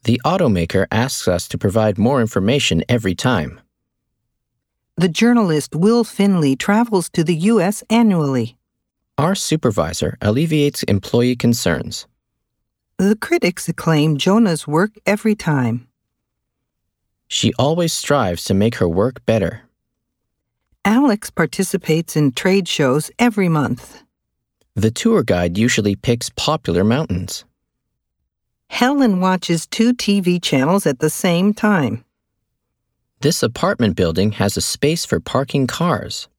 The automaker asks us to provide more information every time. The journalist Will Finley travels to the U.S. annually. Our supervisor alleviates employee concerns. The critics acclaim Jonah's work every time. She always strives to make her work better. Alex participates in trade shows every month. The tour guide usually picks popular mountains. Helen watches 2 TV channels at the same time. This apartment building has a space for parking cars.